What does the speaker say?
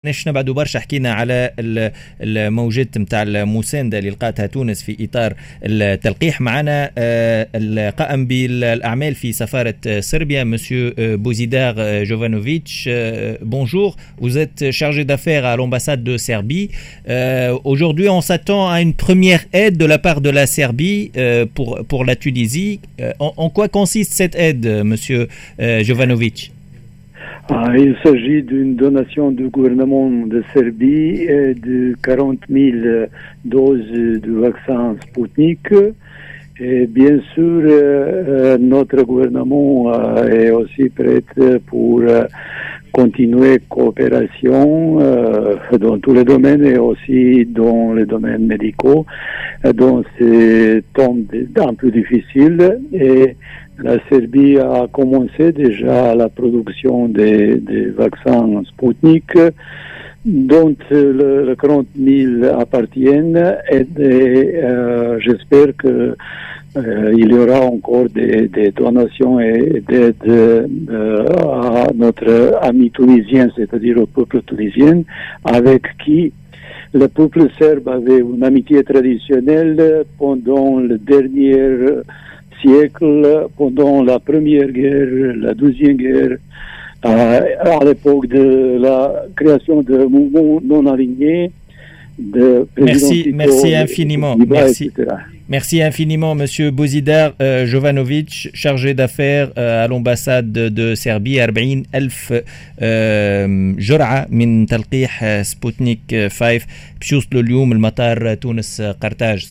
نحن بعد برشا حكينا على الموجات نتاع المساندة اللي لقاتها تونس في إطار التلقيح. معنا القائم بالأعمال في سفارة صربيا مسيو بوزيدار جوفانوفيتش. Bonjour, vous êtes chargé d'affaires à l'ambassade de Serbie. Aujourd'hui, on s'attend à une première aide de la part de la Serbie pour la Tunisie. En quoi consiste cette aide, monsieur Jovanovic? Il s'agit d'une donation du gouvernement de Serbie de 40 000 doses de vaccin Sputnik. Et bien sûr, notre gouvernement est aussi prêt pour continuer coopération dans tous les domaines et aussi dans les domaines médicaux dans ces temps un peu difficiles. Et la Serbie a commencé déjà la production des vaccins Sputnik, dont le 40 000 appartiennent, et j'espère que il y aura encore des donations et d'aides à notre ami tunisien, c'est-à-dire au peuple tunisien, avec qui le peuple serbe avait une amitié traditionnelle pendant le dernier siècle, pendant la première guerre, la deuxième guerre, à l'époque de la création de mouvements non alignés. Merci infiniment. Merci infiniment, monsieur Bozidar Jovanovic, chargé d'affaires à l'ambassade de Serbie. 40,000 جرعة من تلقيح سبوتنيك 5 بشوصلوا اليوم المطار تونس قرطاج.